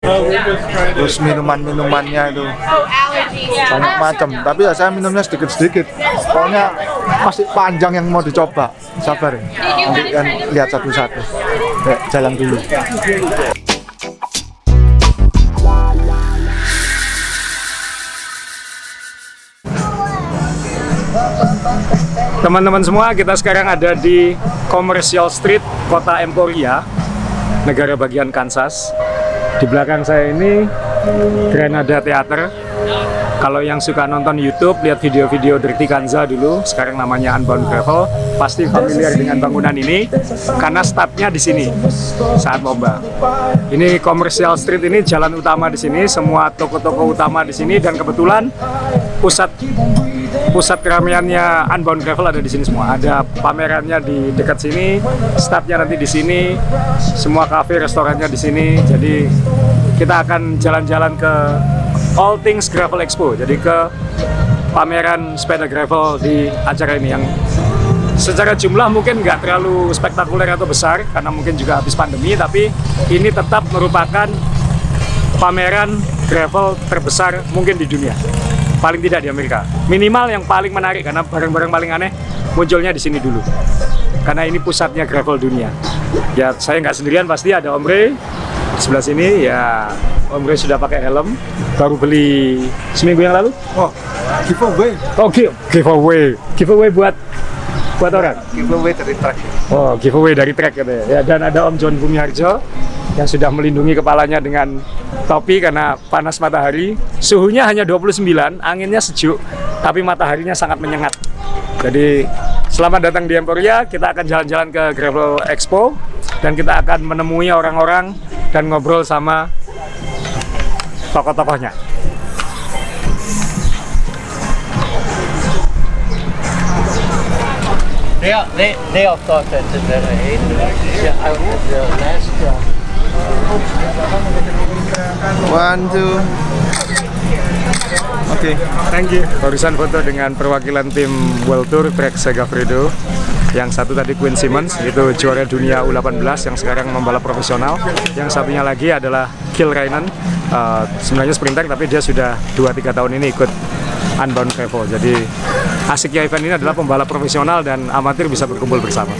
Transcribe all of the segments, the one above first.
Terus minuman-minumannya itu banyak macam. Tapi ya saya minumnya sedikit-sedikit. Pokoknya masih panjang yang mau dicoba. Sabar ya. Nanti kan lihat satu-satu. Ya, jalan dulu. Teman-teman semua, kita sekarang ada di Commercial Street, Kota Emporia, negara bagian Kansas. Di belakang saya ini Granada Theater. Kalau yang suka nonton YouTube, lihat video-video Dirty Kanza dulu, sekarang namanya Unbound Gravel, pasti familiar dengan bangunan ini karena startnya di sini saat lomba. Ini Commercial Street, ini jalan utama di sini, semua toko-toko utama di sini, dan kebetulan pusat keramaiannya Unbound Gravel ada di sini semua. Ada pamerannya di dekat sini, startnya nanti di sini, semua kafe, restorannya di sini. Jadi kita akan jalan-jalan ke All Things Gravel Expo, jadi ke pameran sepeda gravel di acara ini yang secara jumlah mungkin nggak terlalu spektakuler atau besar karena mungkin juga habis pandemi, tapi ini tetap merupakan pameran gravel terbesar mungkin di dunia, paling tidak di Amerika. Minimal yang paling menarik karena barang-barang paling aneh munculnya di sini dulu, karena ini pusatnya gravel dunia. Ya saya nggak sendirian, pasti ada Om Ray sebelah sini. Ya Om Ray sudah pakai helm, baru beli seminggu yang lalu. Oh, giveaway. Oh, giveaway buat orang. Giveaway dari trek. Oh, giveaway dari trek katanya. Ya, dan ada Om John Bumiharjo yang sudah melindungi kepalanya dengan topi karena panas matahari. Suhunya hanya 29, anginnya sejuk, tapi mataharinya sangat menyengat. Jadi selamat datang di Emporia. Kita akan jalan-jalan ke Gravel Expo dan kita akan menemui orang-orang dan ngobrol sama tokoh-tokohnya. They all thought that the last One, two. Oke, Thank you. Barusan foto dengan perwakilan tim World Tour Trek Segafredo. Yang satu tadi Quinn Simmons, itu juara dunia U18 yang sekarang membalap profesional. Yang satunya lagi adalah Gil Reinen, sebenarnya sprinter tapi dia sudah 2-3 tahun ini ikut Unbound Gravel. Jadi asiknya event ini adalah pembalap profesional dan amatir bisa berkumpul bersama.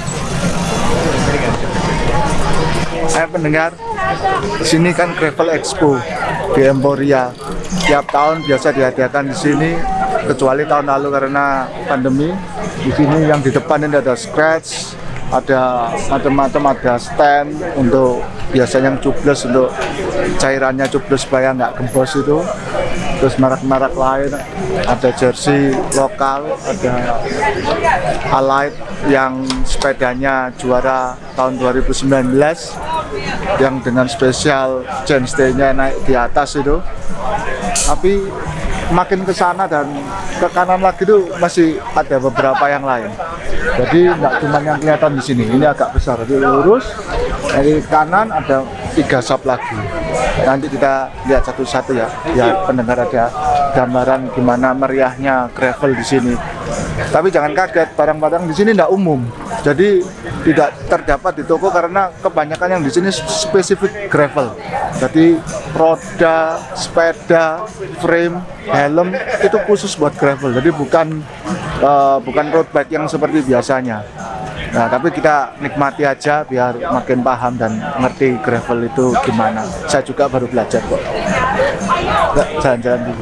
saya pendengar di sini kan Gravel Expo di Emporia. Tiap tahun biasa diadakan di sini, kecuali tahun lalu karena pandemi. Di sini yang di depan ini ada scratch, ada macam-macam, ada stand untuk biasanya yang tubeless, untuk cairannya tubeless supaya nggak gembos itu. Terus merek-merek lain, ada jersey lokal, ada Allied yang sepedanya juara tahun 2019 yang dengan spesial chainstay-nya naik di atas itu. Tapi makin ke sana dan ke kanan lagi itu masih ada beberapa yang lain. Jadi nggak cuma yang kelihatan di sini, ini agak besar. Jadi lurus dari kanan ada 3 shop lagi. Nanti kita lihat satu-satu ya. Ya pendengar, ada gambaran gimana meriahnya gravel di sini. Tapi jangan kaget, barang-barang di sini tidak umum. Jadi tidak terdapat di toko karena kebanyakan yang di sini spesifik gravel. Jadi roda, sepeda, frame, helm itu khusus buat gravel. Jadi bukan road bike yang seperti biasanya. Nah, tapi kita nikmati aja biar makin paham dan ngerti gravel itu gimana. Saya juga baru belajar kok. Jalan-jalan dulu.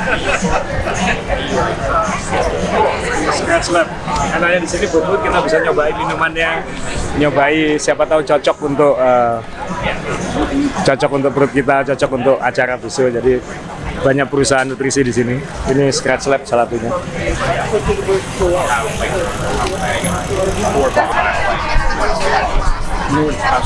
Scratch Lab. Karena di sini booth kita bisa nyobain minumannya, nyobain siapa tahu cocok untuk perut kita, cocok untuk acara besok. Jadi banyak perusahaan nutrisi di sini. Ini Scratch Lab salah satunya. Ini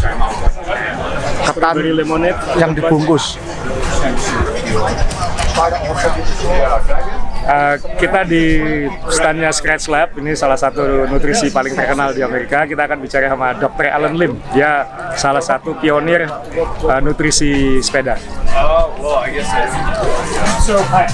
ketan yang dibungkus. Kita di standnya Scratch Lab, ini salah satu nutrisi paling terkenal di Amerika. Kita akan bicara sama Dr. Alan Lim. Dia salah satu pionir nutrisi sepeda. Oh, well, I guess So,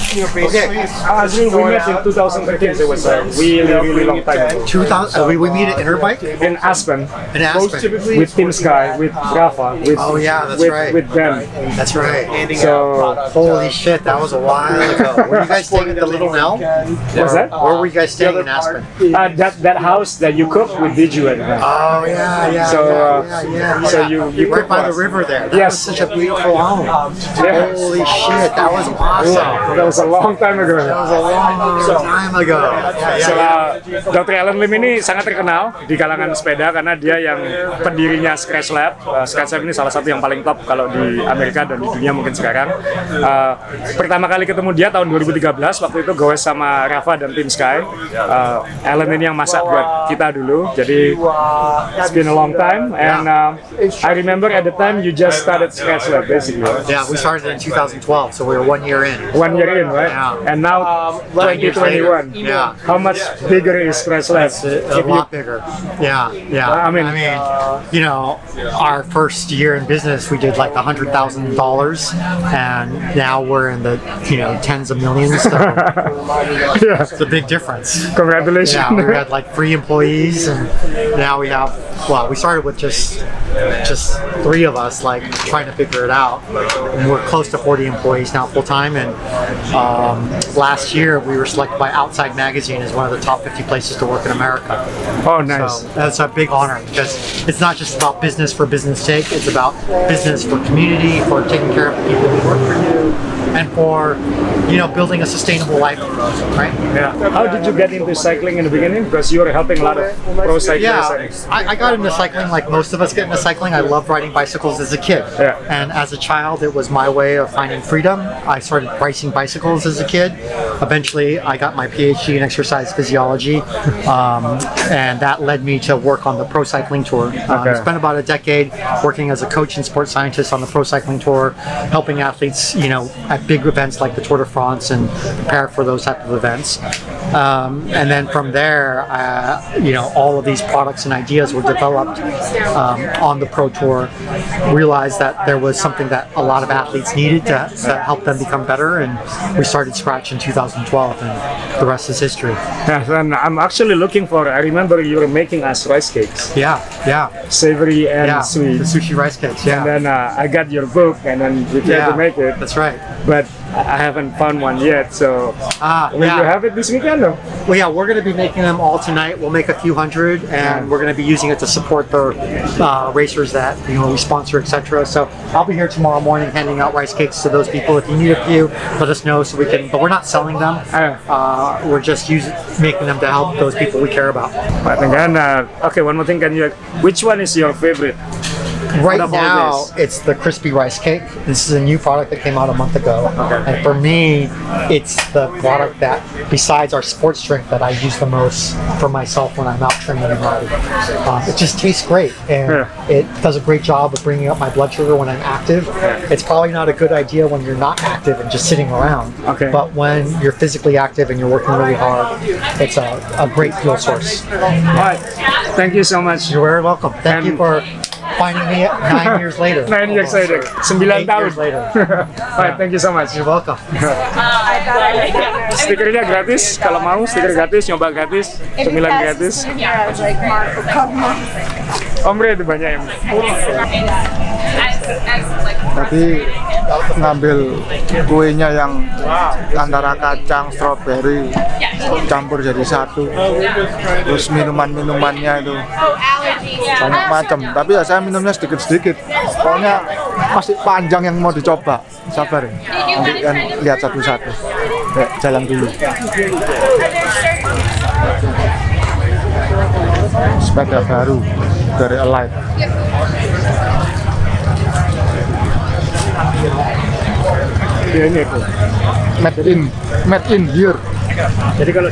Azril, we met in 2013. So it was a really long time ago. 2000. We meet at Interbike In Aspen, in Aspen. with Team Sky, with Rafa, with Oh, yeah, that's with, right. with Ben. That's right. So, Holy shit, that was a while ago. Were you guys staying at the Little Nell? what's that? Where were you guys staying in Aspen? That house that you cook with Diju and Ben. Oh yeah. So, yeah. so you right cook by the us. river there. That Yes. was such a beautiful home. Yeah. Holy shit, that was awesome. That was a long time ago. That was a long time ago. So, Dr. Alan Lim ini sangat terkenal di kalangan sepeda karena dia yang pendirinya Scratch Lab. Scratch Lab ini salah satu yang paling top kalau di Amerika dan di dunia mungkin sekarang. Pertama kali ketemu dia tahun 2013, waktu itu goes sama Rafa dan Team Sky. Alan ini yang masak buat kita dulu, jadi it's been a long time. And I remember at the time you just started Scratch Lab basically. Yeah, we started in 2012, so we were 1 year in. 1 year in, right? Yeah. And now 9 years later. 2021. Yeah. How much bigger is Scratch Lab? A lot bigger. Yeah. I mean, you know, our first year in business, we did like $100,000, and now we're in the, tens of millions. So yeah. it's a big difference. Congratulations. Yeah, we had like 3 employees, and now we have. Well, we started with just 3 of us, like trying to figure it out. And we're close to 40 employees now, full time. And last year, we were selected by Outside Magazine as one of the top 50 places to work in America. Oh, nice. So that's a big honor because it's not just about business for business sake. It's about business for community, for taking care of the people who work for you, and for building a sustainable life, right? Yeah. How did you get into cycling in the beginning? Because you were helping a lot of pro cyclists. Yeah, I got into cycling like most of us get into cycling. I loved riding bicycles as a kid. Yeah. And as a child, it was my way of finding freedom. I started racing bicycles as a kid. Eventually, I got my PhD in exercise physiology, and that led me to work on the Pro Cycling Tour. I spent about a decade working as a coach and sports scientist on the Pro Cycling Tour, helping athletes, at big events like the Tour de France and prepare for those type of events. And then from there, all of these products and ideas were developed on the Pro Tour. Realized that there was something that a lot of athletes needed to help them become better, and we started Scratch in 2012, and the rest is history. Yes, and I'm actually looking for. I remember you were making us rice cakes, Yeah, savory and sweet. the sushi rice cakes. Yeah, And then I got your book, and then we tried to make it, that's right. but I haven't found one yet. So will Yeah. you have it this weekend? Or? Well, yeah, we're going to be making them all tonight. We'll make a few hundred, and we're going to be using it to support the racers that we sponsor, etc. So I'll be here tomorrow morning handing out rice cakes to those people. If you need a few, let us know so we can. But we're not selling them. We're just making them to help those people we care about. And then, okay, one more thing. Which one is your favorite? Right Out of all now, this. it's the crispy rice cake. This is a new product that came out a month ago. Okay. And for me, it's the product that, besides our sports drink, that I use the most for myself when I'm out training and riding. It just tastes great, and it does a great job of bringing up my blood sugar when I'm active. It's probably not a good idea when you're not active and just sitting around. Okay. But when you're physically active and you're working really hard, it's a great fuel source. Alright, thank you so much. You're very welcome. Thank you for finding me 9 years later. 9 years later, 9 8 tahun. years later. Alright, thank you so much. You're welcome. Stikernya gratis, kalau mau stiker gratis, nyoba gratis, cemilan gratis. Omre itu banyak yang. Tadi ngambil kuenya yang antara kacang, stroberi campur jadi satu. Terus minuman-minumannya itu banyak macam. Tapi ya saya minumnya sedikit-sedikit. Pokoknya masih panjang yang mau dicoba. Sabar ya. Nanti kan lihat satu-satu. Ya, jalan dulu. Sepeda baru dari Alight. Ya, ini aku. Made in here. Jadi kalau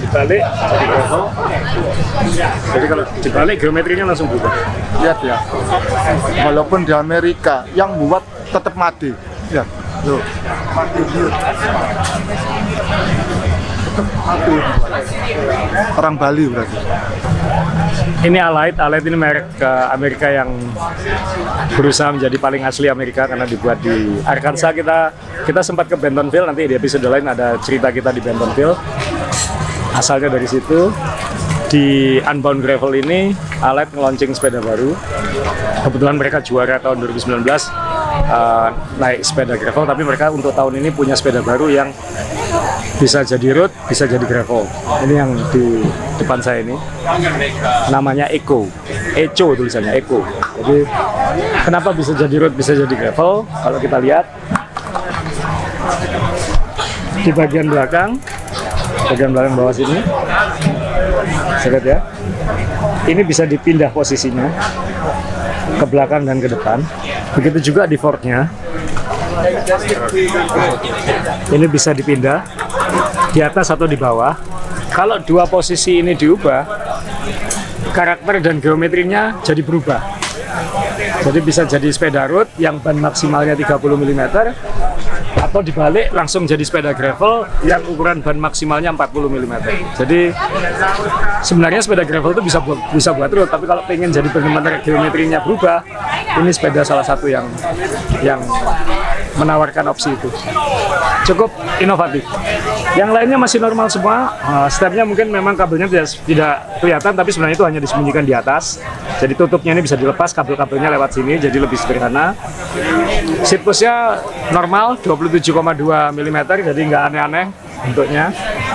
dibalik geometrinya langsung berubah. Lihat ya, walaupun di Amerika yang buat tetap mati. Ya, tuh. Orang Bali berarti. Ini Allied ini merek Amerika yang berusaha menjadi paling asli Amerika karena dibuat di Arkansas. Kita sempat ke Bentonville, nanti di episode lain ada cerita kita di Bentonville. Asalnya dari situ. Di Unbound Gravel ini Allied nge-launching sepeda baru. Kebetulan mereka juara tahun 2019 naik sepeda gravel, tapi mereka untuk tahun ini punya sepeda baru yang bisa jadi road, bisa jadi gravel. Ini yang di depan saya ini namanya Eco tulisannya Eco. Jadi kenapa bisa jadi road, bisa jadi gravel? Kalau kita lihat di bagian belakang bawah sini, saya lihat ya, ini bisa dipindah posisinya ke belakang dan ke depan. Begitu juga di forknya, ini bisa dipindah di atas atau di bawah. Kalau dua posisi ini diubah, karakter dan geometrinya jadi berubah. Jadi bisa jadi sepeda road yang ban maksimalnya 30 mm, atau dibalik langsung jadi sepeda gravel yang ukuran ban maksimalnya 40 mm. Jadi sebenarnya sepeda gravel itu bisa buat road, tapi kalau pengen jadi benar-benar geometrinya berubah, ini sepeda salah satu yang menawarkan opsi itu. Cukup inovatif. Yang lainnya masih normal semua. Stepnya mungkin memang kabelnya tidak kelihatan, tapi sebenarnya itu hanya disembunyikan di atas. Jadi tutupnya ini bisa dilepas, kabel-kabelnya lewat sini, jadi lebih sederhana. Seat pushnya normal 27,2 mm, jadi nggak aneh-aneh bentuknya.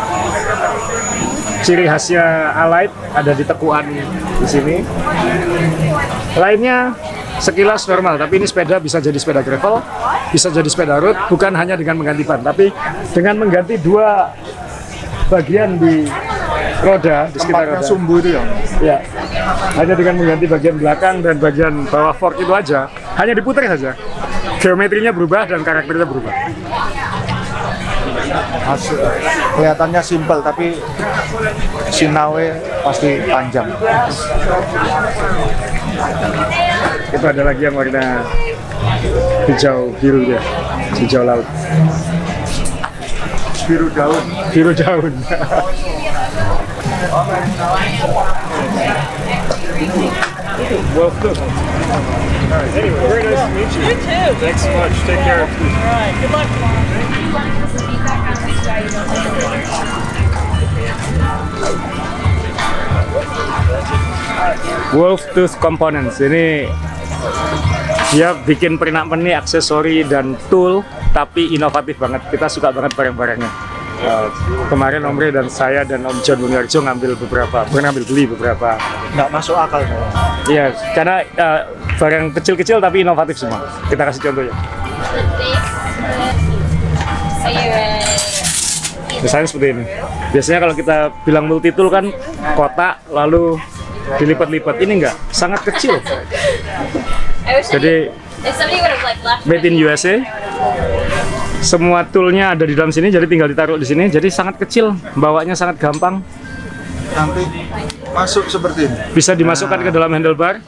Ciri khasnya Allied ada di tekuan di sini. Lainnya sekilas normal, tapi ini sepeda bisa jadi sepeda gravel, bisa jadi sepeda road, bukan hanya dengan mengganti ban, tapi dengan mengganti dua bagian di roda, di sekitar roda. Sumbu itu ya? Ya, hanya dengan mengganti bagian belakang dan bagian bawah fork itu aja, hanya diputar saja. Geometrinya berubah dan karakternya berubah. Kelihatannya simpel, tapi sinawe pasti panjang. Itu ada lagi yang warna hijau biru ya, hijau laut. Biru daun. Biru daun. Well, good. All right. Anyway, very nice to meet you. You too. Thanks so much. Take care. All right. Good luck. Wolf Tooth Components ini dia bikin pernak-pernik, aksesori dan tool, tapi inovatif banget. Kita suka banget barang-barangnya. Kemarin Om Rey dan saya dan Om John Bungarjo ngambil beli beberapa. Nggak masuk akal. Iya, karena barang kecil-kecil tapi inovatif semua. Kita kasih contohnya. Misalnya seperti ini. Biasanya kalau kita bilang multi tool kan kotak lalu dilipat-lipat. Ini enggak, sangat kecil. Jadi made in USA. Semua toolnya ada di dalam sini, jadi tinggal ditaruh di sini. Jadi sangat kecil, bawanya sangat gampang. Nanti masuk seperti ini. Bisa dimasukkan ke dalam handlebar.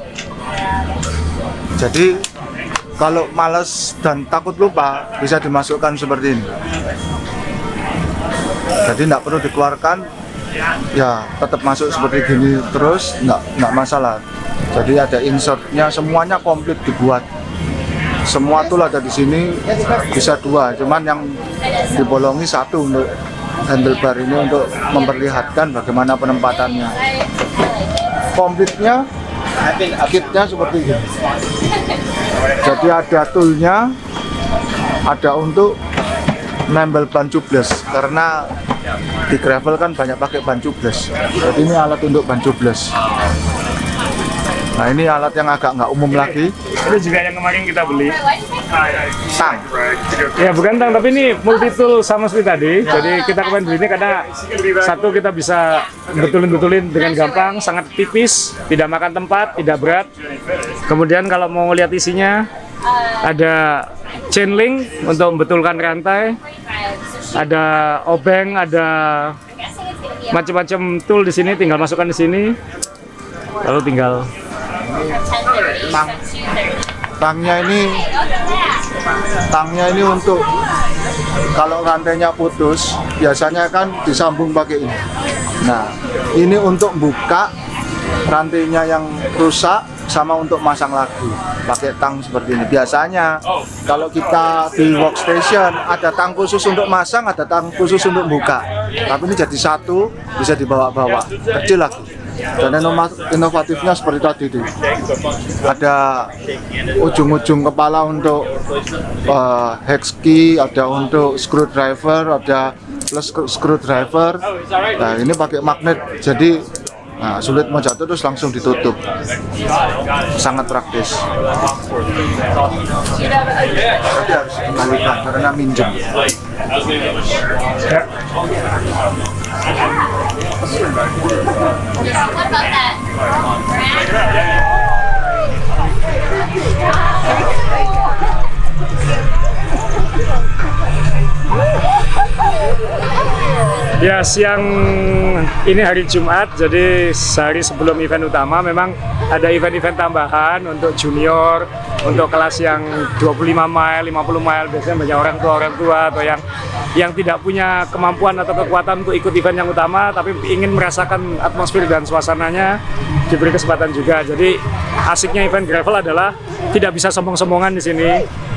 Jadi kalau males dan takut lupa, bisa dimasukkan seperti ini. Jadi nggak perlu dikeluarkan, ya tetap masuk seperti gini terus, nggak masalah. Jadi ada insertnya, semuanya komplit dibuat. Semua tool ada di sini, bisa dua, cuman yang dibolongi satu untuk handlebar ini untuk memperlihatkan bagaimana penempatannya. Komplitnya, kitnya seperti ini. Jadi ada toolnya, ada untuk nempel ban tubeless, karena di gravel kan banyak pakai ban tubeless. Jadi ini alat untuk ban tubeless. Nah ini alat yang agak nggak umum lagi. Ini juga yang kemarin kita beli. Tang. Ya bukan tang, tapi ini multi tool sama seperti tadi. Jadi kita kemarin beli ini karena satu kita bisa betulin dengan gampang, sangat tipis, tidak makan tempat, tidak berat. Kemudian kalau mau lihat isinya, ada chain link untuk membetulkan rantai, ada obeng, ada macam-macam tool di sini. Tinggal masukkan di sini, lalu tinggal Tangnya ini untuk kalau rantainya putus, biasanya kan disambung pakai ini. Nah, ini untuk buka rantainya yang rusak sama untuk masang lagi pakai tang seperti ini. Biasanya kalau kita di workstation ada tang khusus untuk masang, ada tang khusus untuk buka. Tapi ini jadi satu, bisa dibawa-bawa, kecil lagi. Dan inovatifnya seperti tadi itu. Ada ujung-ujung kepala untuk hex key, ada untuk screwdriver, ada plus screwdriver. Nah, ini pakai magnet, jadi sulit mau jatuh terus langsung ditutup. Sangat praktis. Tapi harus dikembalikan karena minjem. Ya, siang ini hari Jumat, jadi sehari sebelum event utama memang ada event-event tambahan untuk junior, untuk kelas yang 25 mile, 50 mile, biasanya banyak orang tua atau yang tidak punya kemampuan atau kekuatan untuk ikut event yang utama tapi ingin merasakan atmosfer dan suasananya, diberi kesempatan juga. Jadi asiknya event gravel adalah tidak bisa sombong-sombongan di sini.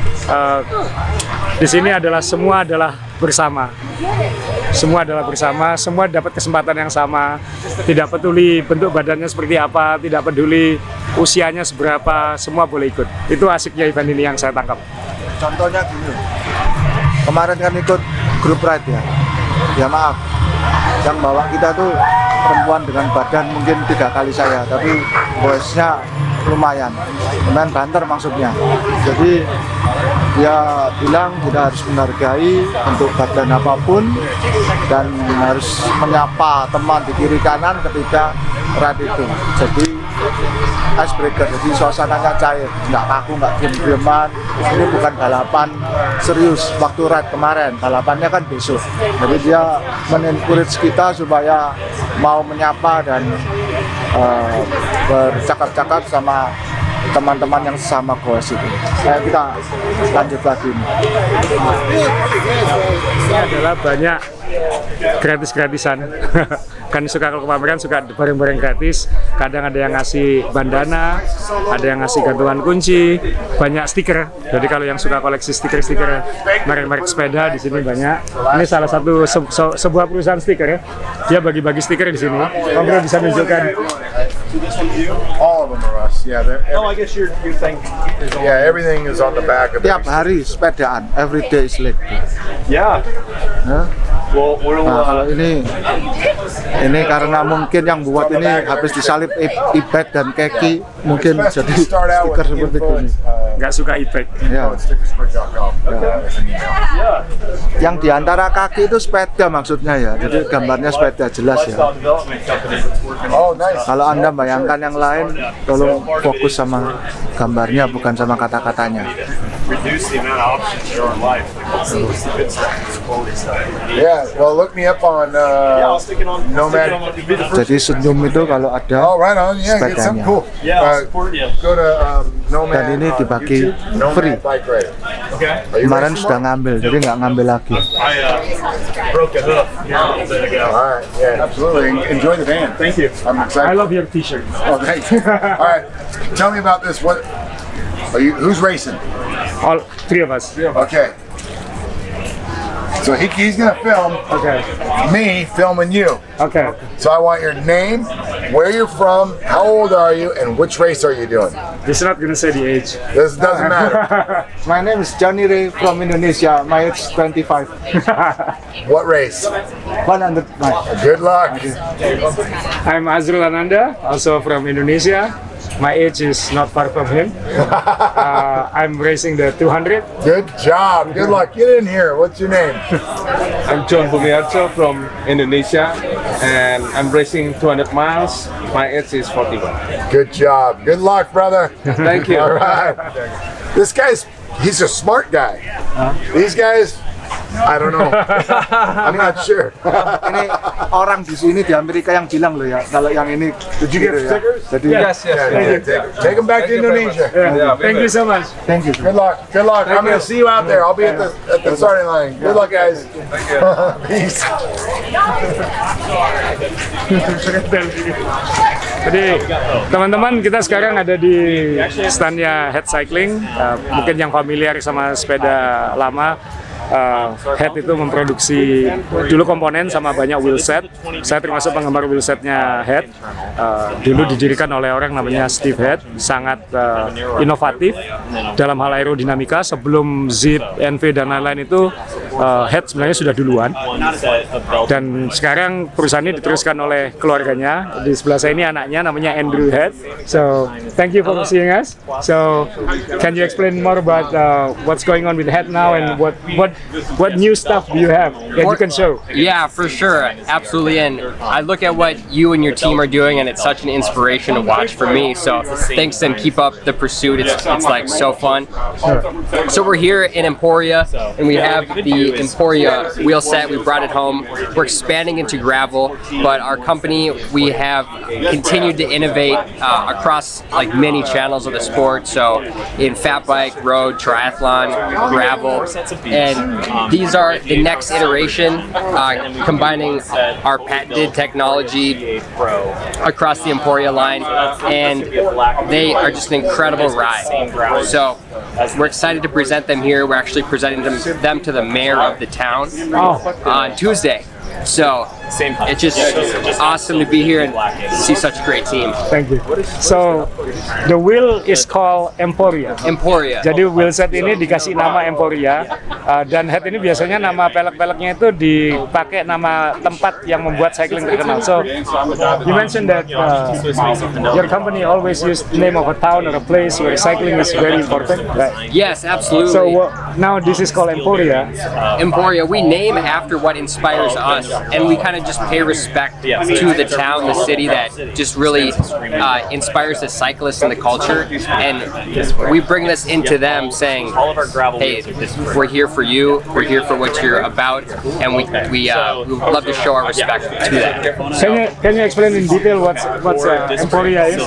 Di sini adalah semua adalah bersama. Semua adalah bersama, semua dapat kesempatan yang sama. Tidak peduli bentuk badannya seperti apa, tidak peduli usianya seberapa, semua boleh ikut. Itu asiknya event ini yang saya tangkap. Contohnya gini, kemarin kan ikut grup ride ya. Ya maaf, yang bawa kita tuh perempuan dengan badan mungkin 3 kali saya, tapi voice-nya lumayan banter maksudnya. Jadi dia bilang kita harus menghargai bentuk badan apapun dan harus menyapa teman di kiri kanan ketika ride itu. Jadi icebreaker, jadi suasananya cair, nggak kaku, nggak diem-dieman. Ini bukan balapan serius waktu ride kemarin, balapannya kan besok. Jadi dia men-encourage kita supaya mau menyapa dan bercakap-cakap sama teman-teman yang sama goes itu. Kita lanjut lagi nih. Ini adalah banyak gratis-gratisan. Kan suka kalau pameran suka barang-barang gratis. Kadang ada yang ngasih bandana, ada yang ngasih gantungan kunci, banyak stiker. Jadi kalau yang suka koleksi stiker-stiker merek-merek sepeda di sini banyak. Ini salah satu sebuah perusahaan stiker ya. Dia bagi-bagi stiker di sini. Om Bro bisa menunjukkan. All of them are us. Yeah, I guess your thing is on. yeah, everything is on the back of Tiap every hari sepedaan, every day is like this. Yeah. Nah, Well, nah, kalau ini karena mungkin yang buat ini habis disalip e-bag dan keki, mungkin jadi stiker seperti ini. Nggak suka e-bike. Ya. stickersport.com. Yang diantara kaki itu sepeda maksudnya ya, jadi gambarnya sepeda jelas ya. development company. Oh, nice. Kalau Anda bayangkan yang lain, tolong fokus sama gambarnya bukan sama kata-katanya. Reduce the amount of options there are in life. It's the good stuff. It's quality stuff. Yeah, well, look me up on I'll stick it on. Nomad. It'd be the first. Jadi senyum itu kalau ada Oh, right on. Yeah, get something sepedanya. cool. Yeah, I'll support you. Go to Nomad. Dan ini on dibagi YouTube, Nomad free. Bike Ride. Okay. Are you Kemarin racing sudah one? ngambil, jadi nggak ngambil lagi. I broke a hoof here a little bit ago. All right. Yeah, absolutely. Enjoy the van. Thank you. I'm I excited. love your t-shirt. Oh, thank you. All right. Tell me about this. What are you? Who's racing? All three of us. Okay. So he's gonna film Okay. me filming you. Okay. So I want your name, where you're from, how old are you, and which race are you doing? He's not gonna say the age. This doesn't matter. My name is Johnny Ray from Indonesia. My age is 25. What race? 100 miles. Good luck. I'm Azrul Ananda, also from Indonesia. My age is not far from him. I'm racing the 200. Good job. Good luck. Get in here. What's your name? I'm John Bumiarjo from Indonesia and I'm racing 200 miles. My age is 41. Good job. Good luck, brother. Thank you. All right. He's a smart guy. These guys, I don't know. I'm not sure. Ini orang di sini di Amerika yang bilang loh ya, kalau yang ini. Did you get stickers? Jadi Yes, yes. Take them back to Indonesia. Thank you so much. thank you. Good luck. Good luck. I'm going to see you out there. I'll be at the starting line. Good luck, guys. Peace. Jadi teman-teman, kita sekarang ada di standnya Head Cycling. Mungkin yang familiar sama sepeda lama, Head itu memproduksi dulu komponen sama banyak wheelset. Saya termasuk penggemar wheelsetnya Head. Dulu didirikan oleh orang namanya Steve Head, sangat inovatif dalam hal aerodinamika. Sebelum Zip, NV dan lain-lain itu Head sebenarnya sudah duluan. Dan sekarang perusahaan ini diteruskan oleh keluarganya. Di sebelah saya ini anaknya namanya Andrew Head. So thank you for seeing us. So can you explain more about what's going on with Head now and what new stuff do you have that you can show? Yeah, for sure, absolutely. And I look at what you and your team are doing, and it's such an inspiration to watch for me. So thanks, and keep up the pursuit. It's like so fun. So we're here in Emporia, and we have the Emporia wheel set. We brought it home. We're expanding into gravel, but our company, we have continued to innovate across like many channels of the sport. So in fat bike, road, triathlon, gravel, and these are the next iteration, combining our patented technology across the Emporia line, and they are just an incredible ride. So we're excited to present them here. We're actually presenting them to the mayor of the town on Tuesday. So it's just awesome to be here and see such a great team. Thank you. So the wheel is called Emporia. Emporia. Jadi wheelset ini dikasih nama Emporia, dan Head ini biasanya nama pelek-peleknya itu dipakai nama tempat yang membuat cycling terkenal. So you mentioned that your company always use the name of a town or a place where cycling is very important, right? Yes, absolutely. So now this is called Emporia. Emporia, we name after what inspires us, and we kind of just pay respect to the town, the city that just really inspires the cyclists and the culture, and we bring this into them saying, hey, we're here for you, we're here for what you're about, and we love to show our respect to that. Can you explain in detail what's Emporia is?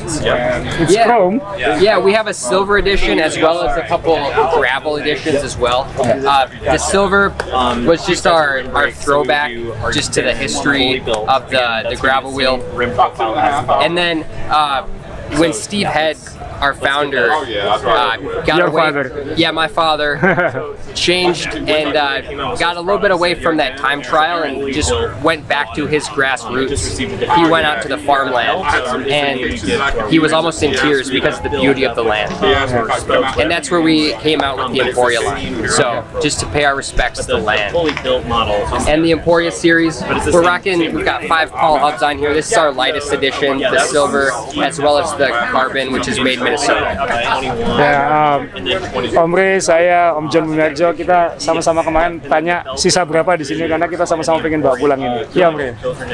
It's chrome. Yeah, we have a silver edition as well as a couple gravel editions as well. The silver was just our throwback just to the history of the gravel wheel. And then when Steve Head, our founder, got Your away. father. Yeah, my father changed and got a little bit away from that time trial and just went back to his grassroots. He went out to the farmland and he was almost in tears because of the beauty of the land. And that's where we came out with the Emporia line. So just to pay our respects to the land. And the Emporia series, we're rocking. We've got 5 Paul hubs on here. This is our lightest edition, the silver, as well as the carbon, which is made in Minnesota. Ya, Om Re, saya, Om John Bumiarjo, kita sama-sama kemarin tanya sisa berapa di sini karena kita sama-sama pengen bawa pulang ini. Iya, Om Re.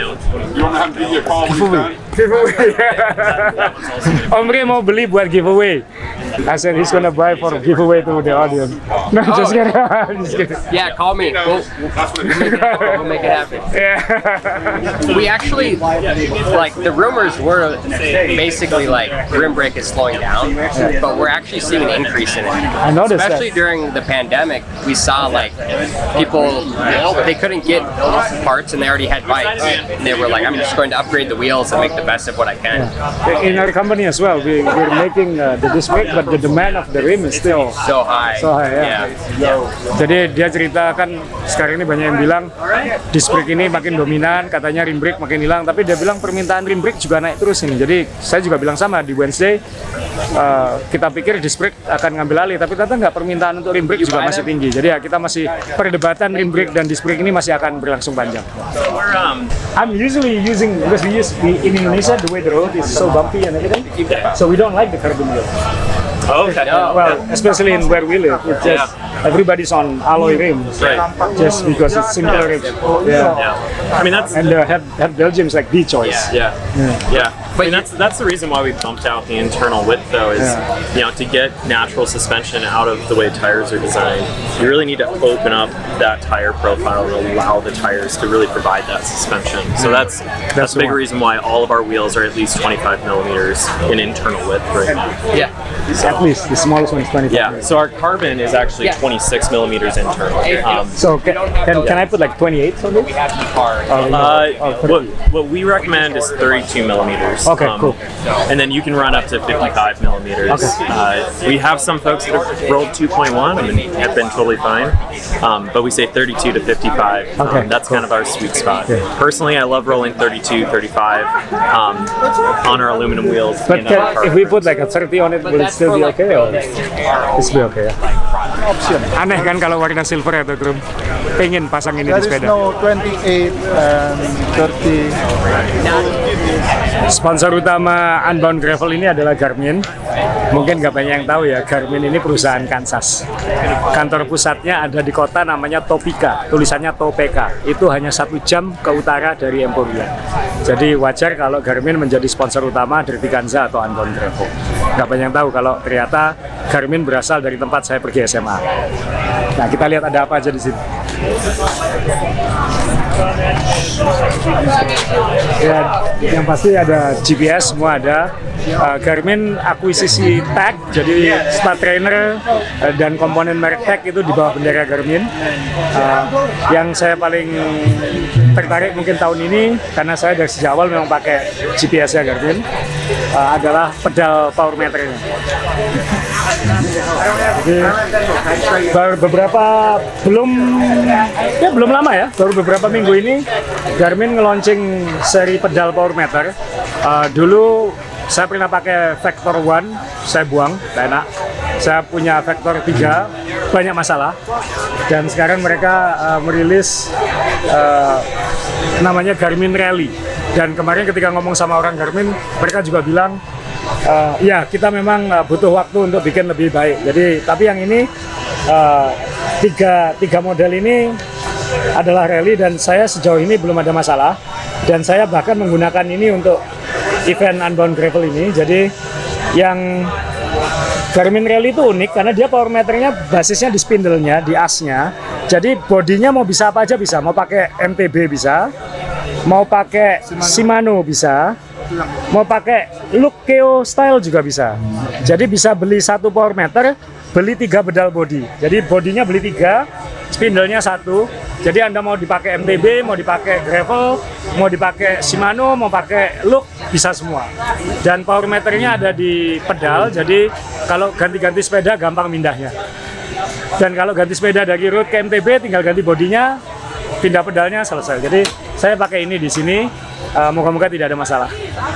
Giveaway. Om Re mau beli buat giveaway. I said he's gonna buy for giveaway to the audience. No, just kidding. Just kidding. Yeah, call me. We'll make it happen. Yeah. We actually, like, the rumors were basically like Rim Break is slowing down, but we're actually seeing an increase in it. I noticed Especially that. during the pandemic, we saw like people, they couldn't get parts and they already had bikes. And they were like, I'm just going to upgrade the wheels and make the best of what I can. In our company as well, we're making the disc brake, but the demand of the rim is still So high. so high. Ya. Jadi dia cerita kan sekarang ini banyak yang bilang disc brake ini makin dominan, katanya rim brake makin hilang, tapi dia bilang permintaan rim brake juga naik terus ini. Jadi saya juga bilang sama di Wednesday, kita pikir disc brake akan ngambil alih, tapi ternyata nggak, permintaan untuk rim brake juga masih tinggi. Jadi ya kita masih perdebatan rim brake dan disc brake ini masih akan berlangsung panjang. I'm usually using, because in Indonesia the way the road is so bumpy and everything, so we don't like the carbon wheel. Okay. Well, especially in where we live, it's just everybody's on alloy rims, just because it's simpler rims. Yeah. I mean And have Belgium's like the choice. Yeah. But that's the reason why we bumped out the internal width, though, is to get natural suspension out of the way tires are designed, you really need to open up that tire profile and allow the tires to really provide that suspension. So that's a big reason why all of our wheels are at least 25 millimeters in internal width right now. Yeah. At least the smallest one is 25. Yeah. So our carbon is actually 26 millimeters internal. So can I put like 28 on it? What we recommend is 32 millimeters. Okay, cool. And then you can run up to 55 millimeters. Okay. We have some folks that have rolled 2.1 and have been totally fine. But we say 32 to 55. Okay, That's kind of our sweet spot. Yeah. Personally, I love rolling 32, 35 on our aluminum wheels. But in our if we put like a 30 on it, will it still be okay? Or it's be okay? Aneh kan kalau warna silver ya tuh, Krum? Pengen pasang ini There di is sepeda. no 28 and 30. Sponsor utama Unbound Gravel ini adalah Garmin. Mungkin nggak banyak yang tahu ya, Garmin ini perusahaan Kansas. Kantor pusatnya ada di kota namanya Topeka, tulisannya Topeka. Itu hanya 1 jam ke utara dari Emporia. Jadi wajar kalau Garmin menjadi sponsor utama Dirty Kanza atau Unbound Gravel. Nggak banyak yang tahu kalau ternyata Garmin berasal dari tempat saya pergi SMA. Nah, kita lihat ada apa aja di sini. Ya, yang pasti ada GPS, semua ada. Garmin akuisisi tag, jadi start trainer dan komponen merek tag itu di bawah bendera Garmin. Yang saya paling tertarik mungkin tahun ini, karena saya dari sejak awal memang pakai GPS-nya Garmin, adalah pedal power meternya. Jadi baru belum lama ya, baru beberapa minggu ini Garmin nge-launching seri pedal power meter. Dulu saya pernah pakai Vector 1, saya buang, tidak enak. Saya punya Vector 3, banyak masalah. Dan sekarang mereka merilis namanya Garmin Rally. Dan kemarin ketika ngomong sama orang Garmin, mereka juga bilang, ya kita memang butuh waktu untuk bikin lebih baik. Jadi, tapi yang ini tiga model ini adalah rally dan saya sejauh ini belum ada masalah. Dan saya bahkan menggunakan ini untuk event Unbound Gravel ini. Jadi yang Garmin Rally itu unik karena dia power meternya basisnya di spindle-nya, di asnya. Jadi bodinya mau bisa apa aja bisa. Mau pakai MTB bisa, mau pakai Shimano bisa, mau pakai Lukeo style juga bisa. Jadi bisa beli 1 power meter, beli 3 pedal body. Jadi bodinya beli 3, spindle-nya 1. Jadi Anda mau dipakai MTB, mau dipakai gravel, mau dipakai Shimano, mau pakai Look, bisa semua. Dan power meternya ada di pedal, jadi kalau ganti-ganti sepeda gampang pindahnya. Dan kalau ganti sepeda dari road ke MTB, tinggal ganti bodinya, pindah pedalnya, selesai. Jadi saya pakai ini di sini, moga-moga tidak ada masalah.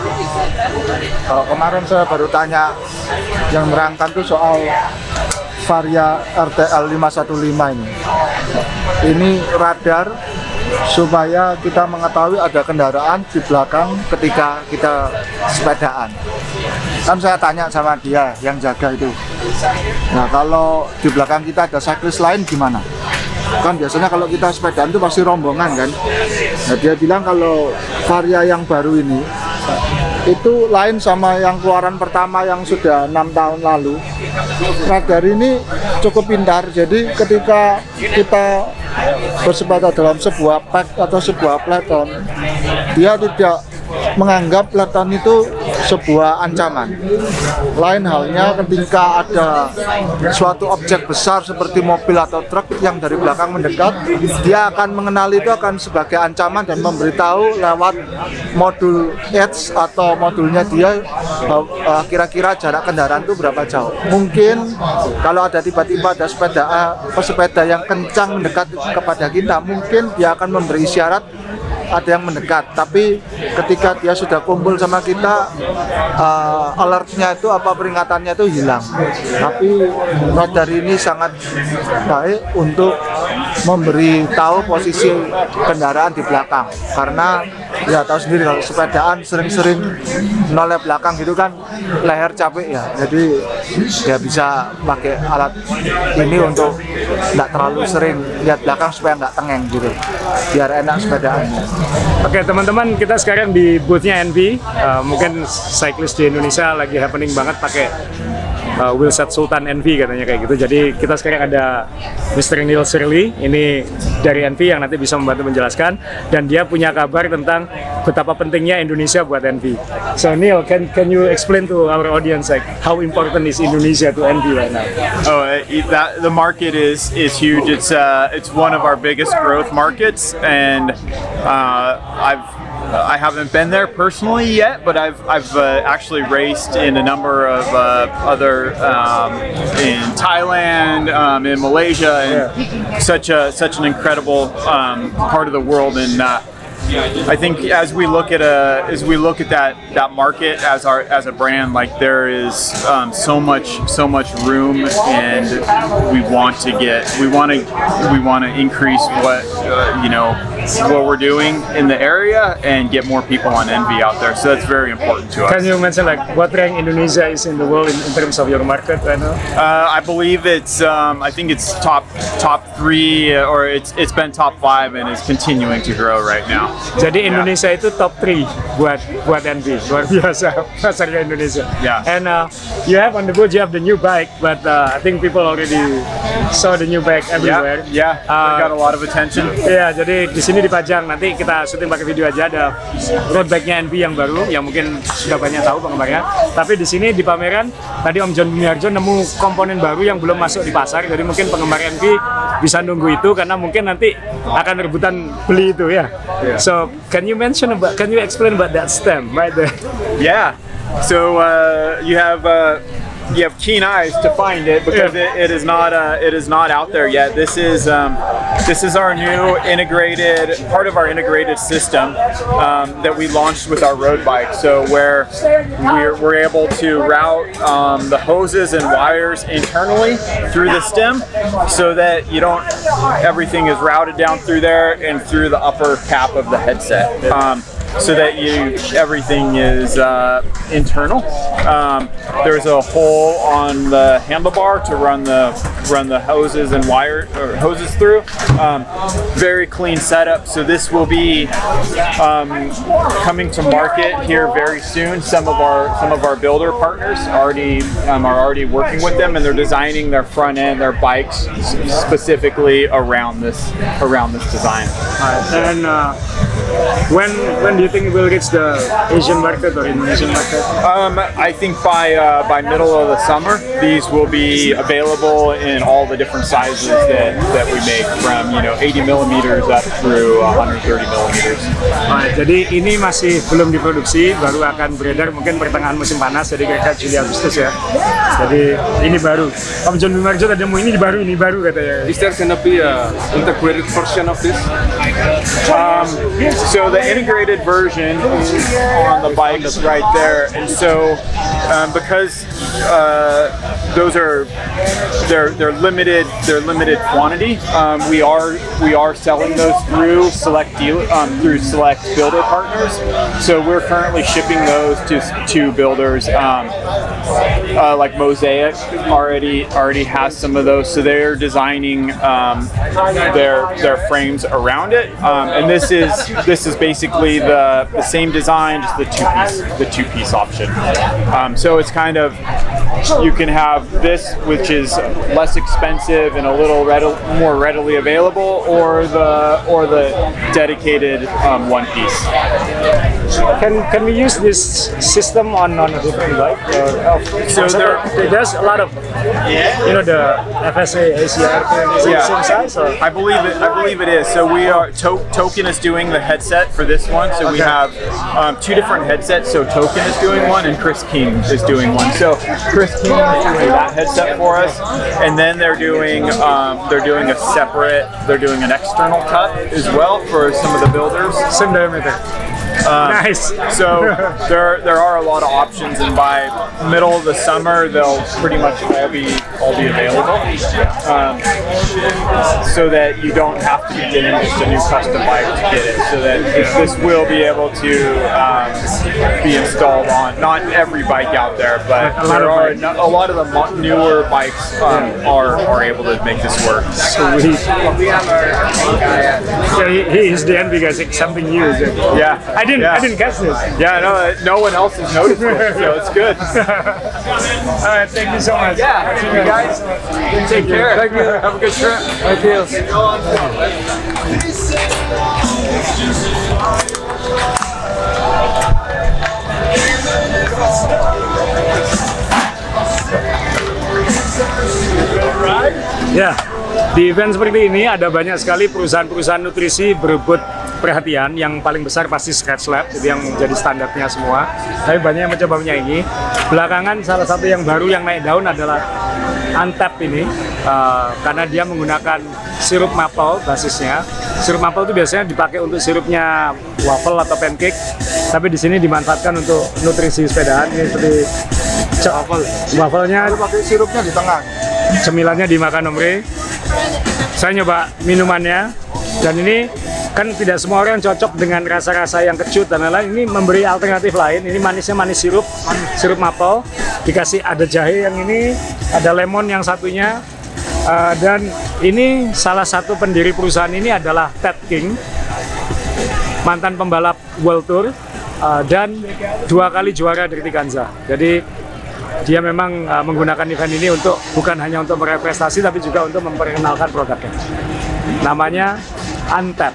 Kalau kemarin saya baru tanya yang merangkan tuh soal Varia RTL 515 ini. Ini radar supaya kita mengetahui ada kendaraan di belakang ketika kita sepedaan. Kan saya tanya sama dia yang jaga itu. Nah, kalau di belakang kita ada cyclist lain gimana? Kan biasanya kalau kita sepedaan itu pasti rombongan kan. Nah, dia bilang kalau Varia yang baru ini itu lain sama yang keluaran pertama yang sudah 6 tahun lalu. Radar ini cukup pintar, jadi ketika kita bersepeda dalam sebuah pack atau sebuah peloton, dia tidak menganggap peloton itu sebuah ancaman. Lain halnya ketika ada suatu objek besar seperti mobil atau truk yang dari belakang mendekat, dia akan mengenali itu akan sebagai ancaman dan memberitahu lewat modul edge atau modulnya dia kira-kira jarak kendaraan itu berapa jauh. Mungkin kalau ada tiba-tiba ada pesepeda yang kencang mendekat kepada kita, mungkin dia akan memberi isyarat ada yang mendekat, tapi ketika dia sudah kumpul sama kita, alertnya itu apa peringatannya itu hilang. Tapi radar ini sangat baik untuk memberi tahu posisi kendaraan di belakang, karena Ya tahu sendiri kalau sepedaan sering-sering noleh belakang gitu kan leher capek ya. Jadi dia bisa pakai alat ini untuk nggak terlalu sering lihat belakang supaya nggak tengeng gitu. Biar enak sepedaannya. Oke teman-teman, kita sekarang di boothnya Envy. Mungkin cyclist di Indonesia lagi happening banget pakai wheelset Sultan Envy katanya kayak gitu. Jadi kita sekarang ada Mr. Neil Shirley, ini dari Envy yang nanti bisa membantu menjelaskan, dan dia punya kabar tentang betapa pentingnya Indonesia buat Envy. So Neil, can you explain to our audience like how important is Indonesia to Envy right now? The market is huge. It's one of our biggest growth markets, and I haven't been there personally yet, but I've actually raced in a number of other in Thailand, in Malaysia, and such an incredible part of the world. And I think as we look at that market as a brand, like there is so much room, and we want to increase what what we're doing in the area and get more people on Envy out there. So that's very important to us. Can you mention like what rank Indonesia is in the world in terms of your market right now? I believe it's I think it's top 3, or it's been top 5 and is continuing to grow right now. Jadi Indonesia itu top 3 buat Envy, luar biasa pasarnya Indonesia. Yeah. And you have on the booth, you have the new bike, but I think people already saw the new bike everywhere. Yeah, got a lot of attention. Iya, jadi di sini dipajang. Nanti kita syuting pakai video aja, ada road bike-nya Envy yang baru, yang mungkin sudah banyak tahu penggemarnya. Tapi di sini di pameran tadi Om John Bumiarjo nemu komponen baru yang belum masuk di pasar. Jadi mungkin penggemar Envy bisa nunggu itu karena mungkin nanti akan rebutan beli itu ya. So can you explain about that stem right there? Yeah. So you have keen eyes to find it, because it is not out there yet. This is our new part of our integrated system that we launched with our road bike. So where we're able to route the hoses and wires internally through the stem, so that everything is routed down through there and through the upper cap of the headset. So that everything is internal. There's a hole on the handlebar to run the hoses and hoses through. Very clean setup. So this will be coming to market here very soon. Some of our builder partners are already working with them, and they're designing their front end, their bikes specifically around this design. And when do you think it will reach the Asian market or Indonesian market? I think by middle of the summer, these will be available in all the different sizes that we make, from 80 millimeters up through 130 millimeters. Jadi ini masih belum diproduksi, baru akan beredar mungkin pertengahan musim panas, jadi kira-kira Juli Agustus ya. Jadi ini baru. Om John Bumiarjo tadi mau ini baru katanya. Is there gonna be a integrated version of this? So the integrated version is on the bike right there, and so because those are they're limited quantity, we are selling those through select builder partners. So we're currently shipping those to builders. Like Mosaic already has some of those, so they're designing their frames around it, and this is basically the same design, just the two-piece option. So it's kind of, you can have this, which is less expensive and a little more readily available, or the dedicated one piece. Can we use this system on a different bike? So there's a lot of the FSA ACR same size. Or? I believe it is. So we are Token is doing the headset for this one. So we have 2 different headsets. So Token is doing one, and Chris King is doing one. So Chris King is doing that headset for us, and then they're doing an external cut as well for some of the builders. Same diameter. Nice. So there are a lot of options, and by middle of the summer, they'll pretty much all be available, so that you don't have to be getting just a new custom bike to get it. So that this will be able to be installed on not every bike out there, but there are a lot of the newer bikes are able to make this work. Sweet. So he is the envy guys, like something new. Yeah, I didn't guess this. Yeah, no one else has noticed it, so it's good. All right, thank you so much. Yeah, see you guys. Take care. Thank you. Have a good trip. Thank you. Ya, di event seperti ini ada banyak sekali perusahaan-perusahaan nutrisi berebut perhatian. Yang paling besar pasti Scratch Lab, itu yang jadi standarnya semua. Tapi banyak yang mencoba menyaingi. Belakangan salah satu yang baru yang naik daun adalah Untap ini, karena dia menggunakan sirup maple basisnya. Sirup maple itu biasanya dipakai untuk sirupnya waffle atau pancake, tapi di sini dimanfaatkan untuk nutrisi sepedaan. Ini seperti waffle-nya pakai sirupnya di tengah. Cemilannya dimakan Omre. Saya nyoba minumannya, dan ini kan tidak semua orang cocok dengan rasa-rasa yang kecut dan lain-lain. Ini memberi alternatif lain. Ini manisnya manis sirup maple, dikasih ada jahe yang ini, ada lemon yang satunya, dan ini salah satu pendiri perusahaan ini adalah Ted King, mantan pembalap World Tour, dan 2 kali juara dari Ganza. Jadi dia memang menggunakan event ini bukan hanya untuk meraih prestasi, tapi juga untuk memperkenalkan produknya. Namanya Untap.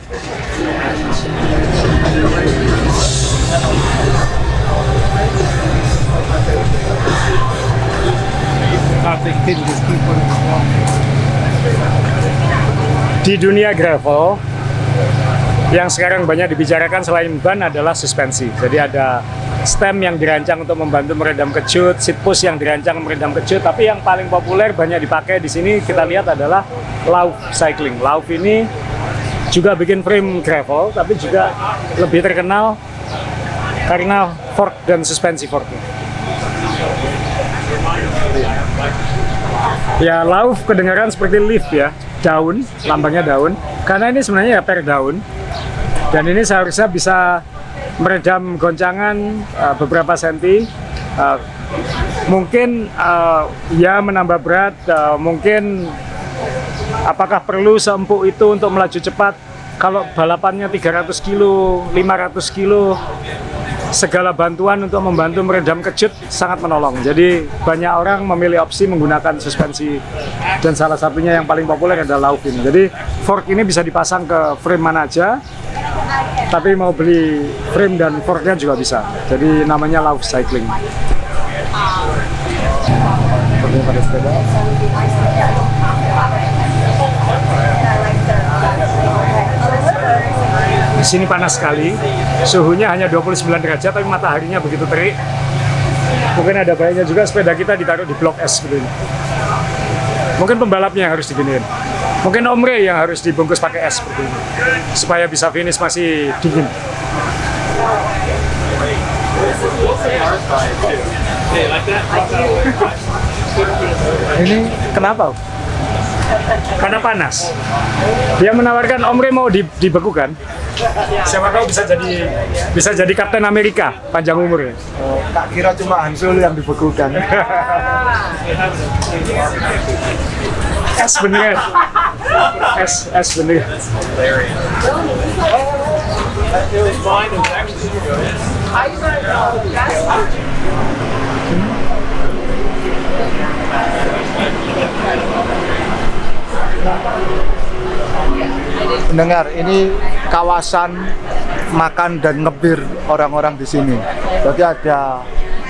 Di dunia gravel, yang sekarang banyak dibicarakan selain ban adalah suspensi. Jadi ada stem yang dirancang untuk membantu meredam kecut, seat push yang dirancang meredam kecut, tapi yang paling populer banyak dipakai di sini kita lihat adalah Lauf Cycling. Lauf ini juga bikin frame gravel, tapi juga lebih terkenal karena fork dan suspensi forknya. Ya, Lauf kedengaran seperti leaf ya, daun, lambangnya daun, karena ini sebenarnya ya per daun, dan ini seharusnya bisa meredam goncangan beberapa senti, mungkin ya menambah berat, mungkin apakah perlu seempuk itu untuk melaju cepat. Kalau balapannya 300 kilo, 500 kilo, segala bantuan untuk membantu meredam kecut sangat menolong. Jadi banyak orang memilih opsi menggunakan suspensi, dan salah satunya yang paling populer adalah Lauf ini. Jadi fork ini bisa dipasang ke frame mana aja, tapi mau beli frame dan forknya juga bisa. Jadi namanya Lauf Cycling. Pada sepeda. Di sini panas sekali, suhunya hanya 29 derajat, tapi mataharinya begitu terik. Mungkin ada baiknya juga sepeda kita ditaruh di blok es seperti ini. Mungkin pembalapnya yang harus diginiin. Mungkin Omre yang harus dibungkus pakai es seperti ini, supaya bisa finish masih dingin. Ini kenapa? Karena panas. Dia menawarkan Omre mau dibekukan. Siapa tahu bisa jadi Kapten Amerika panjang umurnya. Tak kira cuma Hansul yang dibekukan. Es bener. Es bener. Mendengar, ini kawasan makan dan ngebir orang-orang di sini. Jadi ada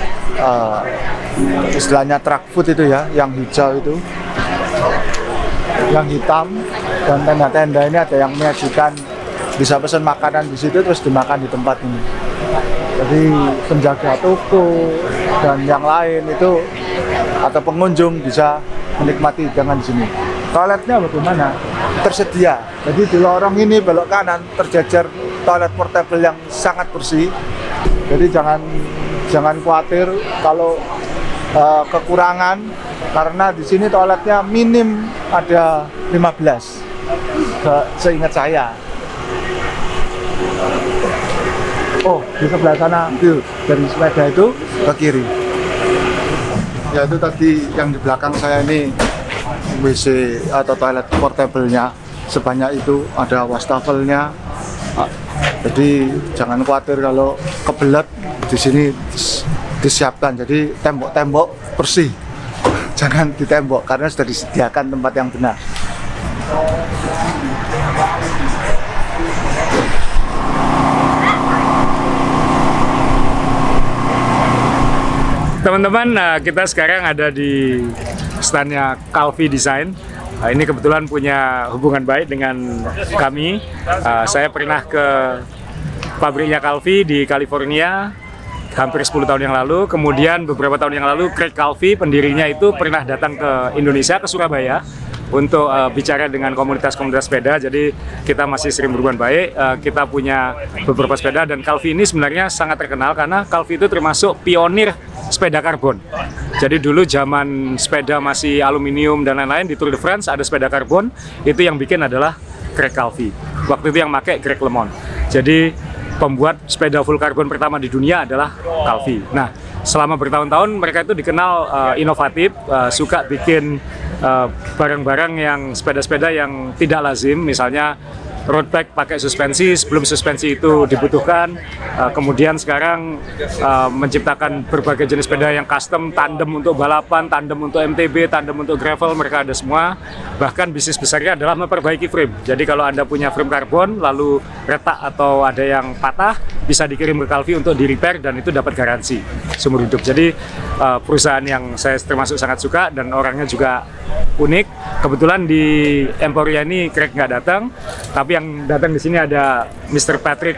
istilahnya truck food itu ya, yang hijau itu, yang hitam, dan tenda-tenda ini ada yang menyajikan, bisa pesan makanan di situ terus dimakan di tempat ini. Jadi penjaga toko dan yang lain itu atau pengunjung bisa menikmati hidangan di sini. Toiletnya bagaimana? Tersedia. Jadi di lorong ini belok kanan terjajar toilet portable yang sangat bersih. Jadi jangan khawatir kalau kekurangan, karena di sini toiletnya minim ada 15 seingat saya. Oh, di sebelah sana tuh, dari sepeda itu ke kiri. Ya itu tadi yang di belakang saya ini WC atau toilet portable-nya, sebanyak itu, ada wastafelnya. Jadi jangan khawatir kalau kebelet, di sini disiapkan. Jadi tembok-tembok bersih. Jangan ditembok karena sudah disediakan tempat yang benar. Teman-teman, kita sekarang ada di standnya Calvi Design. Ini kebetulan punya hubungan baik dengan kami. Saya pernah ke pabriknya Calvi di California hampir 10 tahun yang lalu. Kemudian beberapa tahun yang lalu Craig Calvi, pendirinya itu pernah datang ke Indonesia, ke Surabaya untuk bicara dengan komunitas-komunitas sepeda. Jadi kita masih sering berhubungan baik. Kita punya beberapa sepeda, dan Calvi ini sebenarnya sangat terkenal karena Calvi itu termasuk pionir sepeda karbon. Jadi dulu zaman sepeda masih aluminium dan lain-lain, di Tour de France ada sepeda karbon, itu yang bikin adalah Craig Calvi. Waktu itu yang pakai Greg LeMond. Jadi pembuat sepeda full karbon pertama di dunia adalah Calvi. Nah, selama bertahun-tahun mereka itu dikenal inovatif, suka bikin barang-barang yang sepeda-sepeda yang tidak lazim, misalnya road bike pakai suspensi sebelum suspensi itu dibutuhkan. Kemudian sekarang menciptakan berbagai jenis sepeda yang custom, tandem untuk balapan, tandem untuk MTB, tandem untuk gravel, mereka ada semua. Bahkan bisnis besarnya adalah memperbaiki frame. Jadi kalau Anda punya frame karbon lalu retak atau ada yang patah, bisa dikirim ke Calvi untuk di-repair dan itu dapat garansi seumur hidup. Jadi perusahaan yang saya termasuk sangat suka dan orangnya juga unik. Kebetulan di Emporia ini Craig nggak datang, tapi yang datang di sini ada Mr. Patrick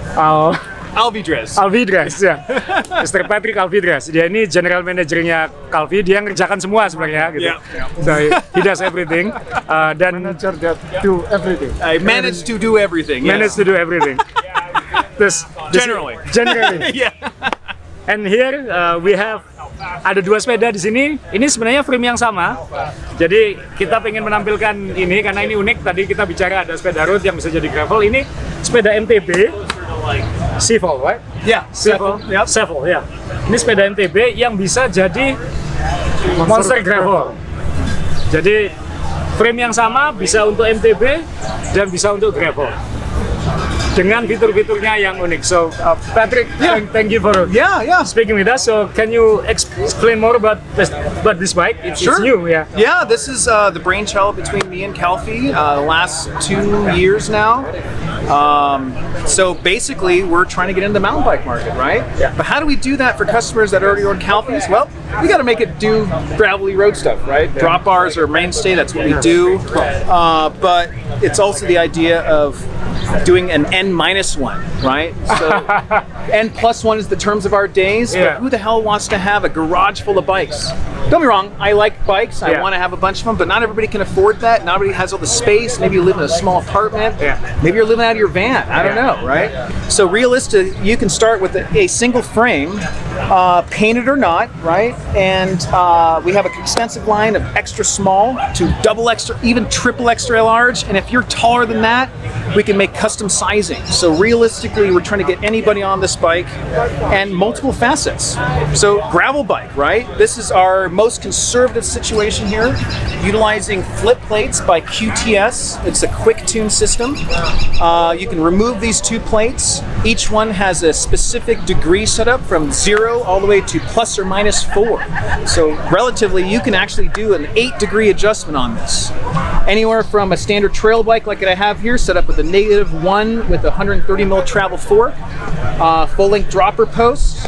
Alvidrez. Ya. Mr. Patrick Alvidrez. Dia ini general manajernya Calvi. Dia ngerjakan semua sebenarnya gitu. So he does everything. Dan Manager that do everything. I managed to do everything. Managed to do everything. Terus Generally. Yeah. And here we have ada dua sepeda di sini. Ini sebenarnya frame yang sama. Jadi kita pengen menampilkan ini karena ini unik. Tadi kita bicara ada sepeda road yang bisa jadi gravel. Ini sepeda MTB, Seafoal, right? Yeah. Seafoal, Yep. Seafoal, ya. Ini sepeda MTB yang bisa jadi monster gravel. Jadi frame yang sama bisa untuk MTB dan bisa untuk gravel, dengan fitur-fiturnya yang unik. So, Patrick, thank you for speaking with us. So, can you explain more about this bike? It's new, yeah. Yeah, this is the brainchild between me and Calvi the last 2 years now. So basically, we're trying to get into the mountain bike market, right? Yeah. But how do we do that for customers that already own Calvis? Well, we got to make it do gravelly road stuff, right? Yeah. Drop bars are mainstay, that's what we do. But it's also the idea of doing an N-1, right? So N+1 is the terms of our days, but who the hell wants to have a garage full of bikes? Don't be wrong, I like bikes, I want to have a bunch of them, but not everybody can afford that. Not everybody has all the space. Maybe you live in a small apartment. Maybe you're living out of your van. I don't know, right? So realistic, you can start with a single frame, painted or not, right? And we have an extensive line of extra small to double extra, even triple extra large. And if you're taller than that, we can make custom sizing. So realistically, we're trying to get anybody on this bike and multiple facets. So gravel bike, right? This is our most conservative situation here, utilizing flip plates by QTS. It's a quick tune system. You can remove these two plates. Each one has a specific degree set up from 0 all the way to plus or minus 4. So relatively, you can actually do an 8-degree adjustment on this. Anywhere from a standard trail bike like I have here, set up with a -1 with a 130 mil travel fork, full-length dropper post,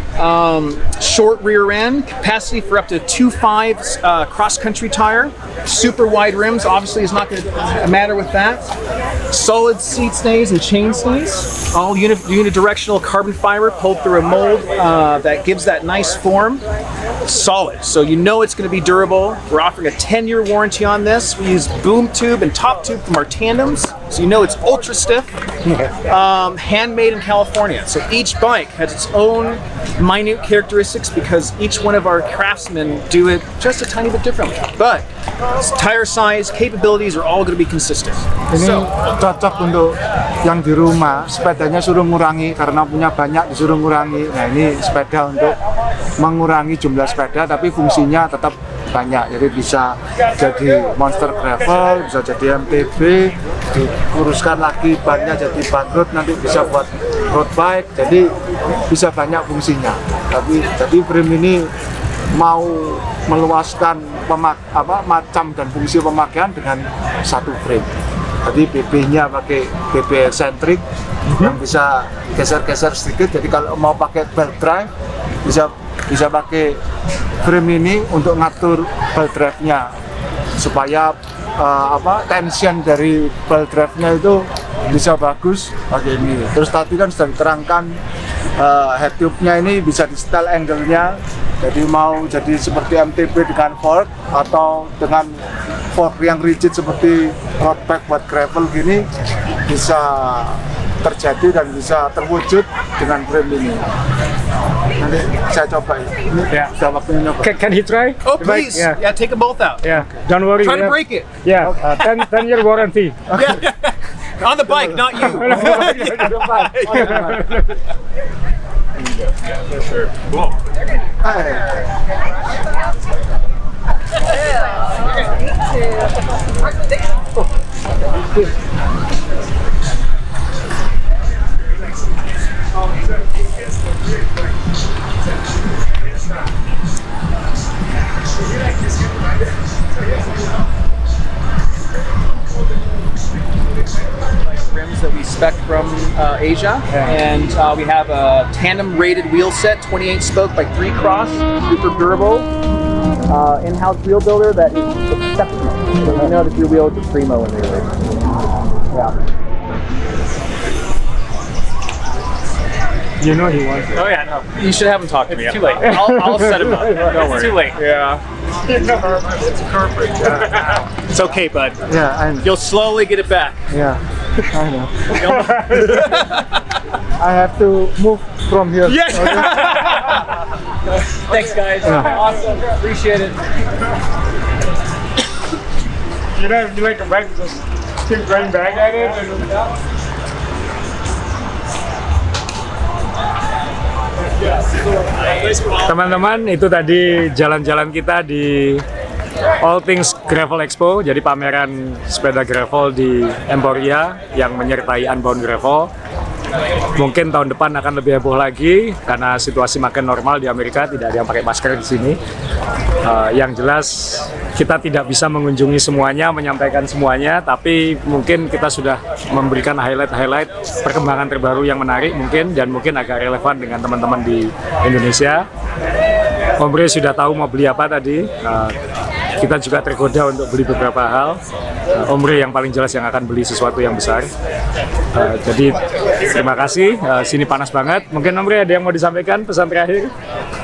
short rear end, capacity for up to 2.5 cross-country tire, super wide rims, obviously is not going to matter with that, solid seat stays and chain stays, all unidirectional carbon fiber pulled through a mold that gives that nice form. solid. So you know it's going to be durable. We're offering a 10-year warranty on this. We use boom tube and top tube from our tandems, so you know it's ultra stiff. Handmade in California. So each bike has its own minute characteristics because each one of our craftsmen do it just a tiny bit differently. But tire size, capabilities are all going to be consistent. Ini cocok untuk yang di rumah, sepedanya suruh ngurangi karena punya banyak disuruh ngurangi. Nah ini sepeda untuk mengurangi jumlah sepeda tapi fungsinya tetap banyak. Jadi bisa jadi monster gravel, bisa jadi MTB, dikuruskan lagi bannya jadi bug road, nanti bisa buat road bike. Jadi bisa banyak fungsinya. Tapi jadi frame ini mau meluaskan macam dan fungsi pemakaian dengan satu frame. Jadi BB-nya pakai BB eccentric yang bisa geser-geser sedikit. Jadi kalau mau pakai belt drive bisa pakai frame ini untuk ngatur belt drive-nya supaya tension dari belt drive-nya itu bisa bagus pakai ini. Terus tadi kan sudah diterangkan head tube-nya ini bisa di setel angle-nya. Jadi mau jadi seperti MTB dengan fork atau dengan fork yang rigid seperti road bike buat gravel gini bisa terjadi dan bisa terwujud dengan frame ini. Nanti saya coba ini sudah waktunya nyoba. Can he try? Oh please, yeah, take them both out. Yeah, don't worry. Try to break it. Yeah, 10-year warranty. Yeah. On the bike, not you. Sure. Cool. Rims that we spec from Asia, and we have a tandem rated wheel set, 28 spoke by 3 cross, super durable, in-house wheel builder that is exceptional. So you know that your wheel is a primo in there. Yeah. You know he wants it. Oh yeah, no. You should have him talk to me. It's too late. I'll set him up. Don't worry. It's too late. Yeah. It's okay, bud. Yeah, I know. You'll slowly get it back. Yeah, I know. I have to move from here. Yeah. Thanks, guys. Awesome. Appreciate it. You know, if you like a bike, just keep going back at it. Teman-teman, itu tadi jalan-jalan kita di All Things Gravel Expo, jadi pameran sepeda gravel di Emporia yang menyertai Unbound Gravel. Mungkin tahun depan akan lebih heboh lagi karena situasi makin normal di Amerika, tidak ada yang pakai masker di sini. Yang jelas kita tidak bisa mengunjungi semuanya, menyampaikan semuanya, tapi mungkin kita sudah memberikan highlight perkembangan terbaru yang menarik mungkin dan mungkin agak relevan dengan teman-teman di Indonesia. Ombre sudah tahu mau beli apa tadi. Kita juga tergoda untuk beli beberapa hal. Ombre yang paling jelas yang akan beli sesuatu yang besar. Jadi terima kasih. Sini panas banget. Mungkin Ombre ada yang mau disampaikan pesan terakhir?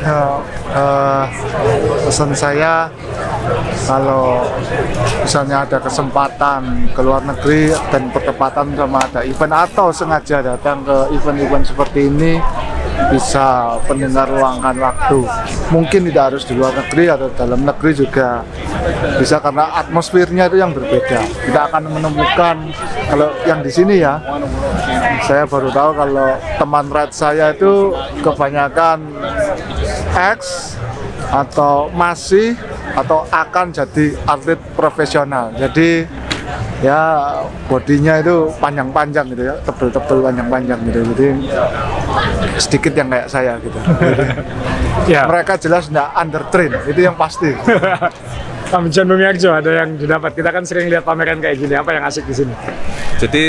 Pesan saya, kalau misalnya ada kesempatan ke luar negeri dan bertepatan sama ada event atau sengaja datang ke event-event seperti ini, bisa pendengar luangkan waktu. Mungkin tidak harus di luar negeri atau dalam negeri juga bisa, karena atmosfernya itu yang berbeda. Kita akan menemukan, kalau yang di sini ya, saya baru tahu kalau teman ride saya itu kebanyakan X atau masih atau akan jadi atlet profesional. Jadi ya bodinya itu panjang-panjang gitu ya, tebel-tebel panjang-panjang gitu. Jadi sedikit yang kayak saya gitu. Ya. Mereka jelas nggak undertrain, itu yang pasti. Om John Bumiarjo, ada yang didapat. Kita kan sering lihat pameran kayak gini. Apa yang asik di sini? Jadi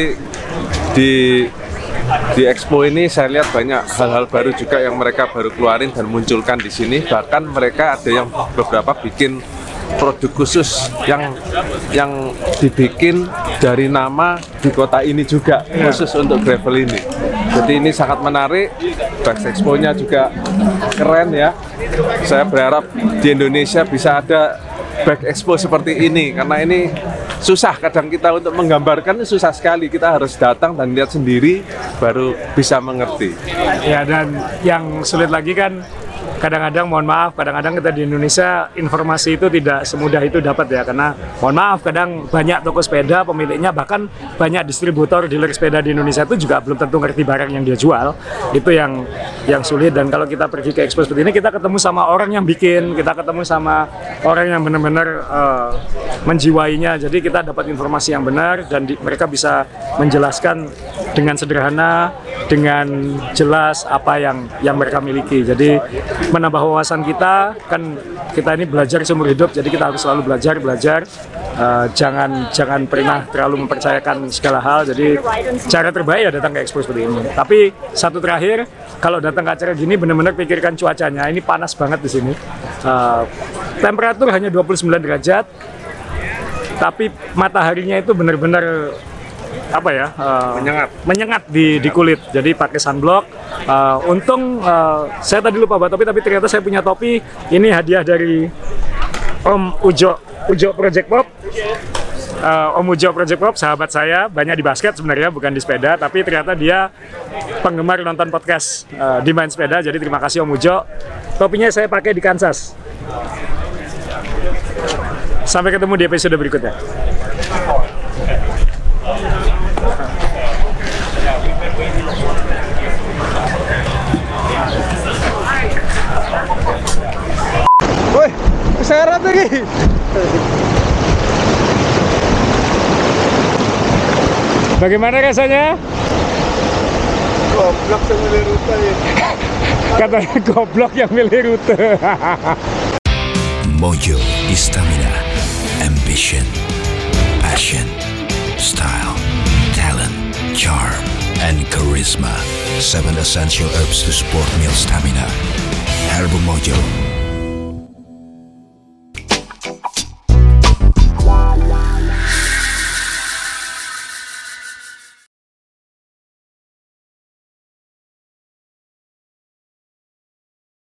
di expo ini saya lihat banyak hal-hal baru juga yang mereka baru keluarin dan munculkan di sini. Bahkan mereka ada yang beberapa bikin produk khusus yang dibikin dari nama di kota ini juga, khusus untuk gravel ini. Jadi ini sangat menarik. Bike Expo-nya juga keren ya. Saya berharap di Indonesia bisa ada Bike Expo seperti ini, karena ini susah kadang kita untuk menggambarkan, susah sekali. Kita harus datang dan lihat sendiri baru bisa mengerti. Ya, dan yang sulit lagi kan kadang-kadang, mohon maaf, kadang-kadang kita di Indonesia informasi itu tidak semudah itu dapat ya, karena mohon maaf kadang banyak toko sepeda pemiliknya, bahkan banyak distributor dealer sepeda di Indonesia itu juga belum tentu ngerti barang yang dia jual. Itu yang sulit. Dan kalau kita pergi ke expo seperti ini, kita ketemu sama orang yang bikin, kita ketemu sama orang yang benar-benar menjiwainya, jadi kita dapat informasi yang benar dan mereka bisa menjelaskan dengan sederhana, dengan jelas apa yang mereka miliki. Jadi menambah wawasan kita, kan kita ini belajar seumur hidup, jadi kita harus selalu belajar. Jangan pernah terlalu mempercayakan segala hal. Jadi cara terbaik ya datang ke expo seperti ini. Tapi satu terakhir, kalau datang ke acara gini benar-benar pikirkan cuacanya. Ini panas banget di sini. Temperatur hanya 29 derajat, tapi mataharinya itu benar-benar menyengat di kulit. Jadi pakai sunblock. Untung saya tadi lupa bawa topi, tapi ternyata saya punya topi. Ini hadiah dari Om Ujo Project Pop. Om Ujo Project Pop, sahabat saya, banyak di basket sebenarnya, bukan di sepeda, tapi ternyata dia penggemar nonton podcast di Main Sepeda. Jadi terima kasih Om Ujo. Topinya saya pakai di Kansas. Sampai ketemu di episode berikutnya. Woi, syarat lagi. Bagaimana rasanya? Goblok yang milih rute ya. Katanya goblok yang milih rute. Mojo Stamina, ambition, passion, style, talent, charm, and charisma. 7 essential herbs to support meal stamina. Herbal Mojo.